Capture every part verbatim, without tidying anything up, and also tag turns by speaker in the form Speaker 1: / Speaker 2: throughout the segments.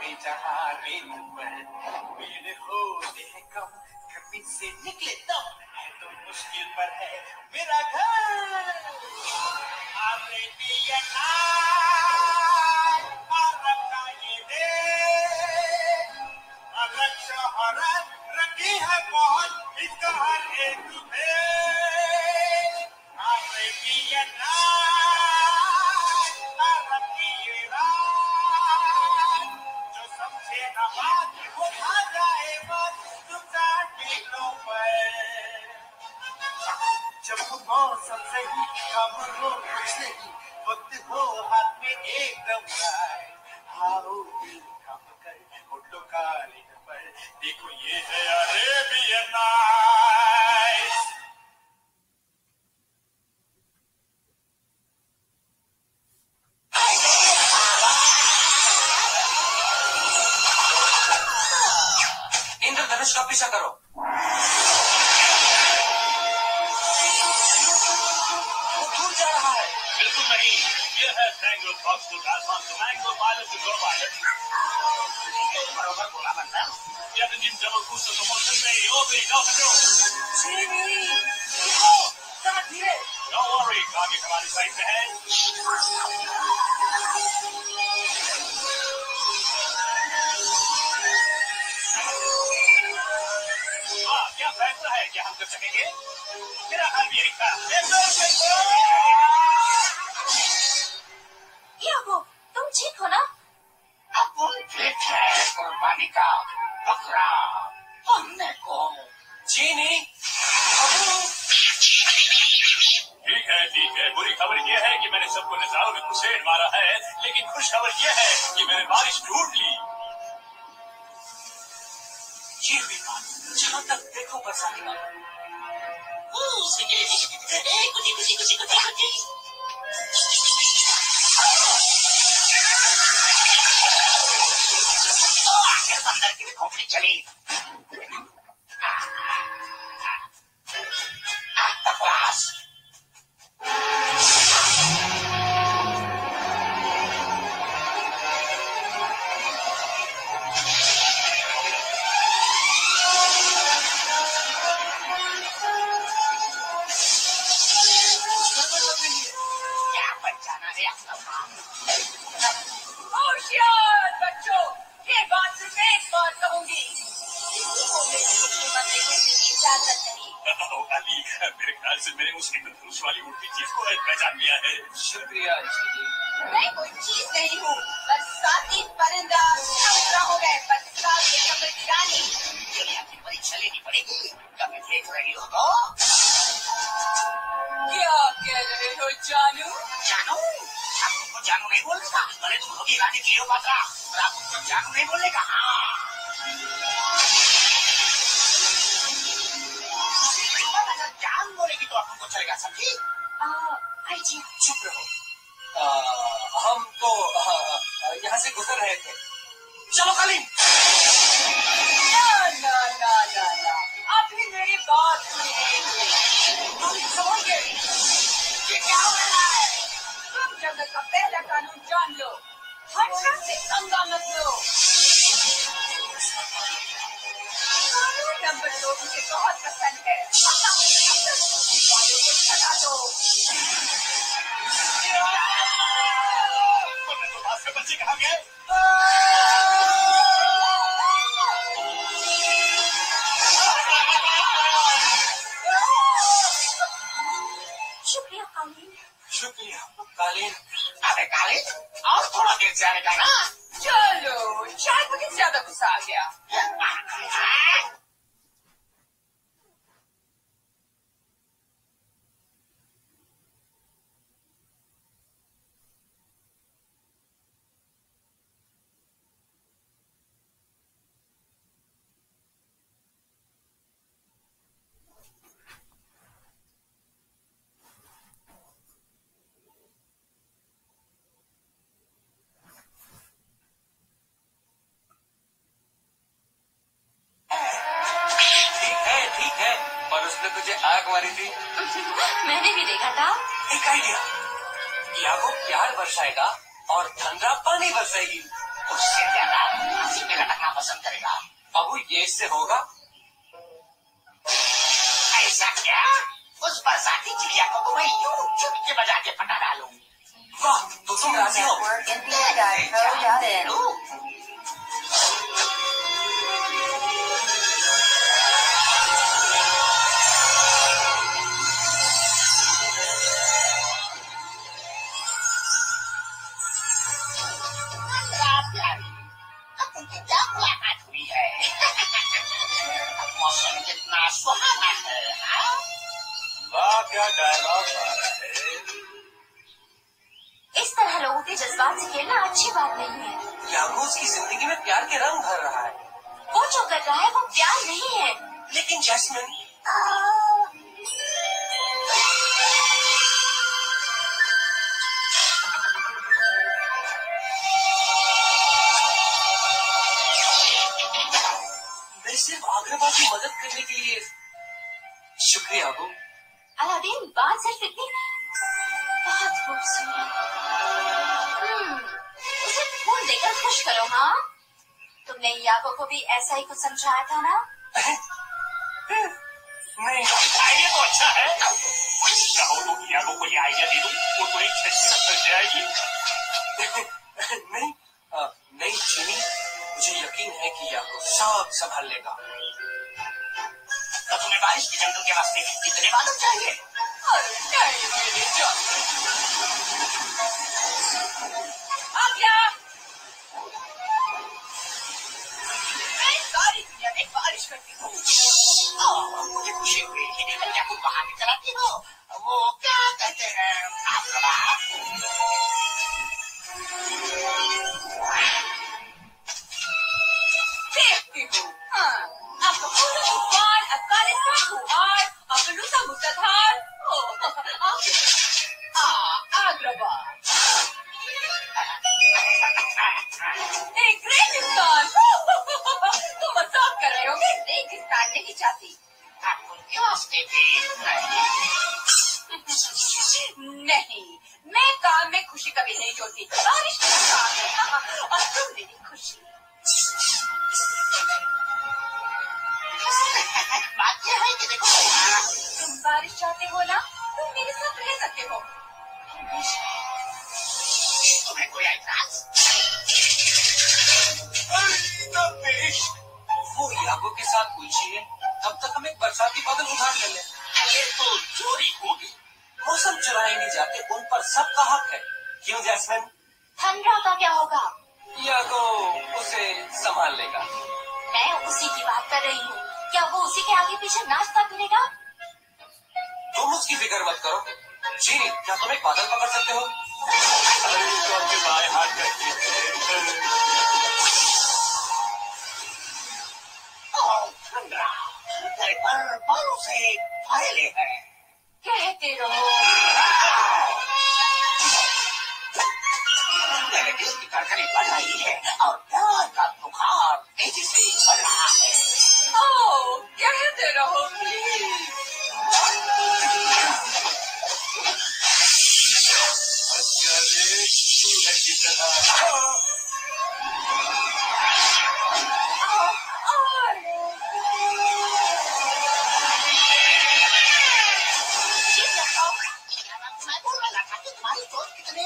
Speaker 1: जाए जहाँ रेनू पर मेरे होते हैं कम कभी से निकले दम है तो मुश्किल पर है मेरा घर अलग शहरत रखी है बहुत इसका हर एक जो समझे ना बात वो खा जाए बस तुम टिकटों पर जब मौसम सही कम हो कुछ नहीं वक्त हो हाथ में एकदम आओ दिल कम कर होटलों का पर देखो ये है अरेबियन नाइट्स
Speaker 2: इंद्रधनुष का पीछा करो। वो दूर जा रहा है।
Speaker 3: बिल्कुल नहीं, ये है मैंगो फॉक्स को आसमान से मैंगो पायलट को पायलट
Speaker 1: बरोबर बोला बनता
Speaker 3: जब जिन जब कुछ तो मौसम में ओ भी नो नो
Speaker 2: चीनी रुको जरा धीरे।
Speaker 3: नो वरी आगे हमारी साइड में है। हाँ क्या फैसला है क्या हम कर सकेंगे? मेरा हाल भी यही था।
Speaker 4: यागो तुम ठीक हो ना?
Speaker 1: अपन ठीक है कुर्बानी का बकरा हमने को
Speaker 2: चीनी
Speaker 3: ठीक है ठीक है बुरी खबर यह है कि मैंने सबको नजारों में घुसेड़ मारा है लेकिन खुश खबर यह है कि मैंने बारिश ढूंढ ली।
Speaker 2: ये हुई बात जहाँ तक देखो बरसाने का
Speaker 1: कुछ कुछ कुछ कुछ अंदर की भी खोपड़ी चली बकवास क्या बचाना है
Speaker 4: होशियार बच्चों, ये बात सिर्फ एक बार कहूंगी। इजाजत नहीं।
Speaker 3: अली मेरे ख्याल से मैंने उस इंद्रधनुष वाली उड़ती चीज को पहचान लिया है।
Speaker 2: शुक्रिया चीनी।
Speaker 4: मैं कोई चीज नहीं हूँ, बस साथी परिंदा समुद्र हो गए बरसात के कमर की रानी।
Speaker 1: दुनिया की परीक्षा लेनी पड़ेगी कभी देख रही हो तो
Speaker 4: क्या कह रहे हो जानू?
Speaker 1: जानू आप तुमको जानू नहीं बोलेगा भले तुम होगी रानी क्लियोपात्रा पर आप तुमको जानू नहीं बोलेगा। हाँ अगर जान बोलेगी तो आप तुमको चलेगा समझी।
Speaker 4: आई जी
Speaker 2: चुप रहो। आ, हम तो यहाँ से गुजर रहे थे। चलो कलीम।
Speaker 4: ना ना ना ना ना अभी मेरी बात सुनिए। तुम समझे ये क्या हो रहा है? तुम जगत का पहला कानून जान लो, हर्षा से संगा मत लो। कानून नंबर दो मुझे बहुत पसंद है। वालों को छटा दो।
Speaker 3: तो बात से बच्चे कहाँ गए?
Speaker 4: शुक्रिया कालीन।
Speaker 2: शुक्रिया कालीन।
Speaker 1: अरे कालीन और थोड़ा देर से आने का ना।
Speaker 4: चलो शायद मुझे ज्यादा गुस्सा आ गया।
Speaker 2: उसने तुझे आग मारी थी।
Speaker 4: मैंने भी देखा था।
Speaker 2: एक आइडिया, यागो प्यार बरसाएगा और धनरा पानी बरसाएगी। उससे ज्यादा फांसी में लटकना पसंद करेगा। बाबू ये इससे होगा? ऐसा क्या? उस बरसाती चिड़िया को तो मैं यूं चुप के बजा के पटा डालूं। वाह, तो तुम राजी हो? क्या मुलाकात हुई है? मौसम कितना सुहाना है।
Speaker 3: वाह क्या डायलॉग है।
Speaker 5: इस तरह लोगों के जज्बात से खेलना अच्छी बात नहीं है।
Speaker 2: यागो उसकी जिंदगी में प्यार के रंग भर रहा है।
Speaker 5: वो जो कर रहा है वो प्यार नहीं है।
Speaker 2: लेकिन जैस्मिन, मैं सिर्फ आग्रवा की मदद करने के लिए। शुक्रिया अबू।
Speaker 5: अलादीन बात सिर्फ इतनी बहुत खूबसूरत। हम्म, उसे फूल देकर खुश करो। हाँ, तुमने यागो को भी ऐसा ही कुछ समझाया था ना?
Speaker 2: नहीं,
Speaker 3: आइडिया तो अच्छा है। चाहो तो यागो को ये आइडिया दे दूं, वो तो एक झटके में फंस जाएगी।
Speaker 2: नहीं आ, नहीं जिमी, मुझे यकीन है कि यागो सब संभाल लेगा।
Speaker 3: तो तुम्हें बारिश की जंगल के रास्ते कितने बादल चाहिए?
Speaker 4: अरे नहीं मेरी जान। आ गया। मैं सारी दुनिया में बारिश करती हूँ।
Speaker 2: मुझे खुशी हुई कि क्या तुम बाहर निकलाती हो। वो क्या कहते हैं आग्रवा?
Speaker 4: देखती हूँ। हाँ, आपका पूरा तूफान अफगानिस्तान हुआर, अफलूसा मुस्तधार। आग्रवा एक रेगिस्तान। तुम मजाक कर रहे हो। मैं रेगिस्तान नहीं चाहती। नहीं, मैं काम में खुशी कभी नहीं जोड़ती। बारिश मेरा काम है और तुम मेरी खुशी।
Speaker 2: बात यह है कि देखो,
Speaker 4: तुम बारिश चाहते हो ना, तुम मेरे साथ रह सकते हो।
Speaker 2: तुम्हें कोई ऐतराज? वो यागो के साथ उलझिए, तब तक हम एक बरसाती बादल उधार ले लें।
Speaker 3: ये तो चोरी होगी।
Speaker 2: मौसम चुराए नहीं जाते, उन पर सबका हक है। क्यों जैस्मिन?
Speaker 5: ठंडा का क्या होगा?
Speaker 2: यागो उसे संभाल लेगा।
Speaker 5: मैं उसी की बात कर रही हूँ। क्या वो उसी के आगे पीछे नाचता फिरेगा?
Speaker 2: तुम उसकी फिक्र मत करो। जी, क्या तुम एक बादल पकड़ सकते हो?
Speaker 3: अरे तो आपके बाएं हाथ करती है।
Speaker 2: ठंडा घर पर बालों से फैले हैं।
Speaker 4: कहते रहो।
Speaker 2: मेरे दिल की धड़कनें बढ़ रही है और प्यार का बुखार तेजी से बढ़ रहा है।
Speaker 4: ओ, कहते रहो प्लीज।
Speaker 3: अरे सूरज की तरह।
Speaker 2: मैं बोल रहा था कि तुम्हारी सोच कितने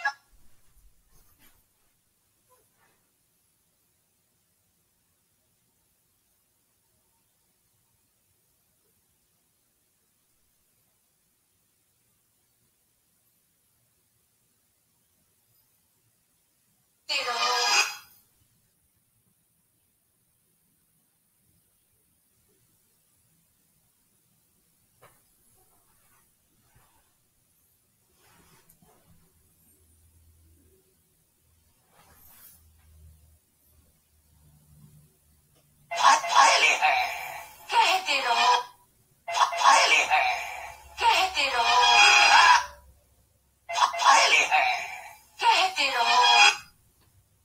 Speaker 4: कहते रहो।
Speaker 2: फैले हैं।
Speaker 4: कहते रहो।
Speaker 2: फैले हैं।
Speaker 4: कहते रहो।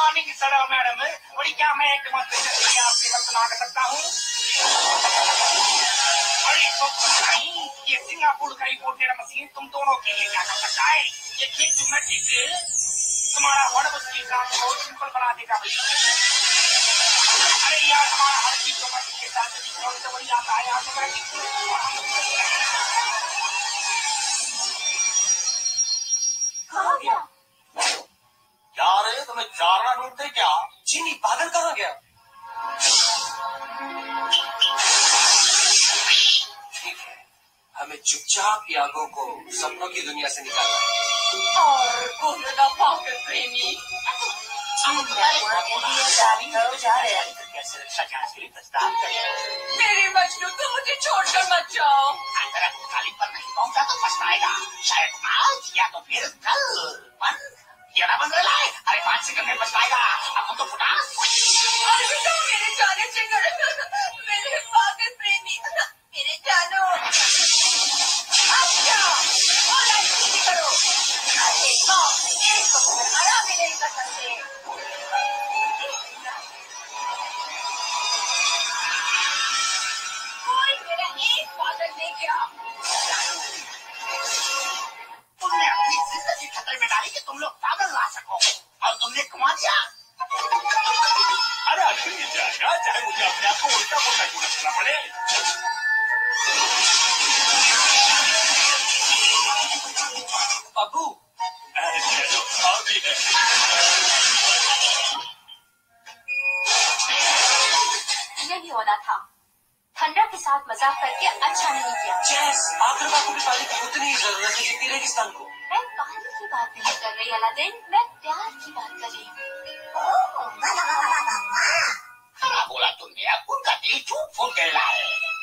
Speaker 2: मॉर्निंग सर मैडम, और क्या मैं एक डेमोन्स्ट्रेशन आपके वक्त मांग सकता हूँ? अरे तो नहीं, ये सिंगापुर का रिपोर्टर मशीन तुम दोनों के लिए क्या कर सकता है? ये क्लिक तुम्हारा वर्ड मुश्किल काम को सिंपल बना देगा भाई। अरे यार हमारा हर चीज ऑटोमेटिक के साथ तो वही आता है ऑटोमेटिक।
Speaker 5: कहाँ गया?
Speaker 3: यार ये तुम्हें चारना ढूंढते क्या?
Speaker 1: चीनी पागल कहाँ गया? ठीक है, हमें चुपचाप यागो को सपनों की दुनिया से निकालना है।
Speaker 4: और कोहरा पागल प्रेमी
Speaker 2: कैसे रक्षा जांच के लिए प्रस्ताव करें?
Speaker 4: मेरे मजनू तुम मुझे छोड़कर मत जाओ।
Speaker 2: अगर आप खाली पर नहीं पहुंचा तो पछताएगा, शायद आज या तो फिर कल। बंद या बंद रहा है, अरे पांच सेकंड में पछताएगा। अब तो फुटा
Speaker 4: अरे तो मेरे जाने जिगर, मेरे पागल प्रेमी, मेरे जानो। अच्छा और ऐसी करो, अरे बाप रे, इसको आराम भी नहीं कर सकते। कोई मेरा एक पागल ले गया।
Speaker 2: तुमने अपनी जिंदगी खतरे में डाली कि तुम लोग पागल ला सको, और तुमने कमा दिया।
Speaker 3: अरे आखिर मिल जाएगा, चाहे मुझे अपने आप को उल्टा पुल्टा क्यों न करना पड़े।
Speaker 1: अबू
Speaker 3: अरे चलो और भी है।
Speaker 5: यही होना था। थंडर के साथ मजाक करके अच्छा नहीं किया।
Speaker 1: चेस आखिर बात की पानी की उतनी ही जरूरत है जितनी रेगिस्तान को।
Speaker 5: मैं पानी की बात नहीं कर रही अलादीन, मैं प्यार की बात कर रही हूँ।
Speaker 2: खरा बोला तुमने, अब उनका दिल टूट फूट गया है।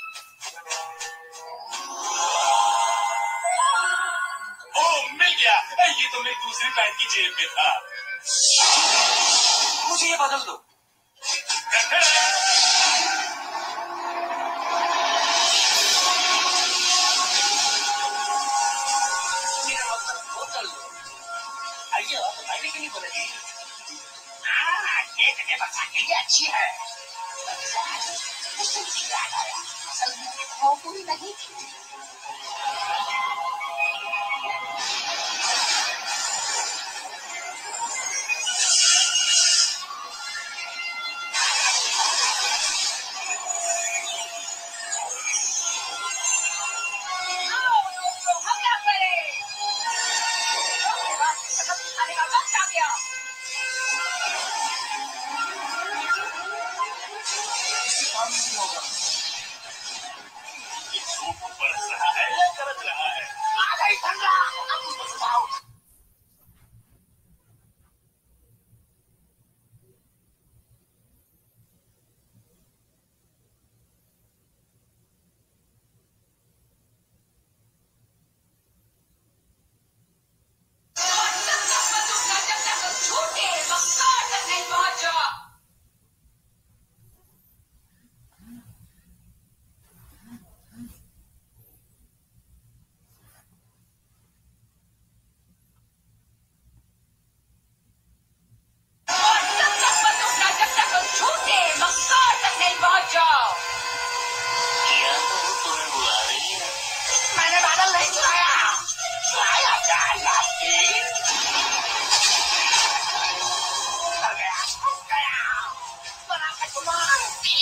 Speaker 3: ओह मिल गया, ये तो मेरी दूसरी पैंट की जेब में था।
Speaker 1: मुझे ये बदल दो।
Speaker 2: आइए मैंने क्यों नहीं बोली? हाँ ये जगह बच्चा के लिए अच्छी है। याद आया, असल में वो पूरी नहीं थी।
Speaker 3: बरस रहा है या गरज रहा है?
Speaker 2: आ गई ठंडा, अब उसको सुझाओ। मैंने बादल नहीं चुराया, चुराया जाल आपकी। कर गया, फंस गया, बना के तुम्हारा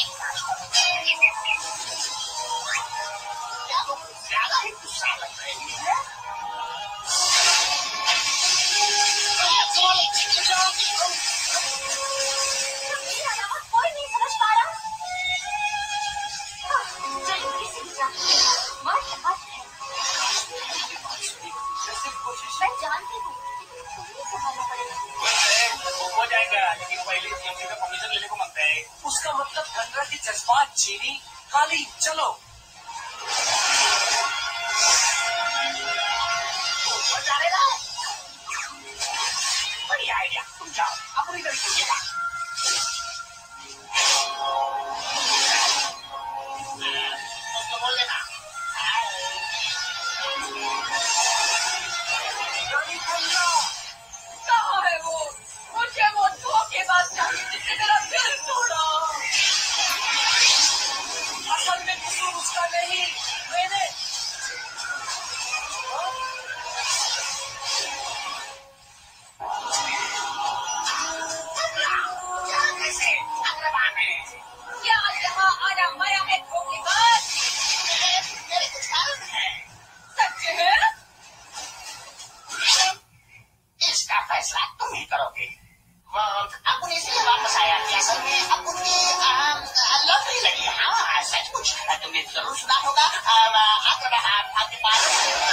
Speaker 2: क्या वो ज्यादा ही गुस्सा लग रही है?
Speaker 5: कोई नहीं समझ पा रहा। चलो किसी भी जान मत मत है। मैं जानती हूँ, तुम्हें संभालना पड़ेगा।
Speaker 2: वो हो जाएगा, लेकिन पहले सीएमसी का परमिशन लेने को मांगता है।
Speaker 1: उसका मतलब ठंडा के जज्बात चीनी खाली। चलो
Speaker 2: जा रहे ना? बढ़िया आइडिया, तुम जाओ अपनी तरह कीजिएगा। उसको बोल देना
Speaker 4: कहाँ है वो? मुझे वो धोखेबाज
Speaker 2: तुमने जरूर सुना होगा अब्राहम आपके पास।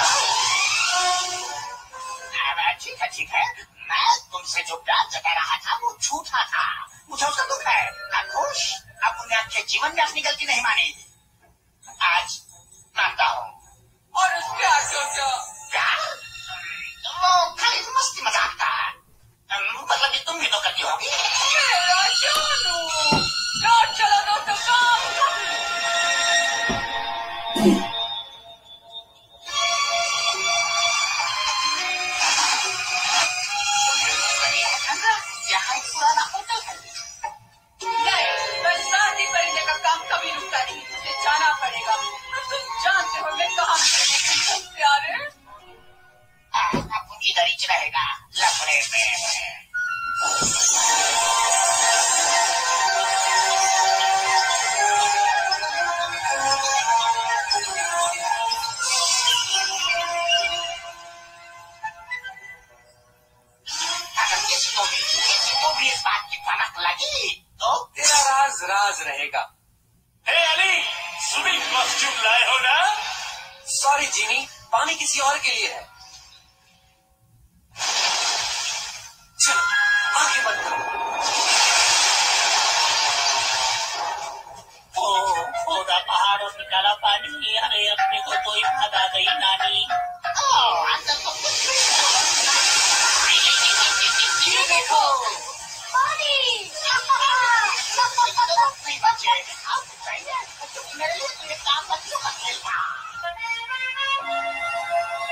Speaker 2: ठीक है ठीक है, मैं तुमसे जो प्यार जता रहा था वो झूठा था, मुझे उसका दुख है। अब खुश, अब तुमने आपके जीवन में अपनी गलती नहीं मानी, आज मानता हूँ।
Speaker 4: और उस प्यार को क्या
Speaker 2: प्यार वो खाली मस्ती मजाक था, मतलब कि तुम भी तो करती होगी।
Speaker 4: मेरा जानू, रात चला दो तो काम
Speaker 2: यहाँ एक पुराना होटल है।
Speaker 4: नहीं, मैं शादी करने का काम कभी रुकता नहीं, मुझे जाना पड़ेगा। तुम जानते हो मैं कहाँ मिलूंगी तुम प्यारे।
Speaker 2: अब इधर ही रहेगा लफड़े में। अगर किसी को भी किसी को भी इस बात की भनक लगी तो
Speaker 6: तेरा राज राज रहेगा।
Speaker 3: हे अली, स्विमिंग कॉस्ट्यूम लाए हो ना?
Speaker 6: सॉरी जीनी, पानी किसी और के लिए है। चलो आगे बंद करो।
Speaker 2: ओ खोदा पहाड़ों से काला पानी, अरे अपने को तो याद आ गई नानी। ओ अंदर तो कुछ
Speaker 6: ये देखो
Speaker 5: पानी।
Speaker 2: नहीं बचे, अब चाहिए मेरे लिए तो ये काम बच्चों का खेल था।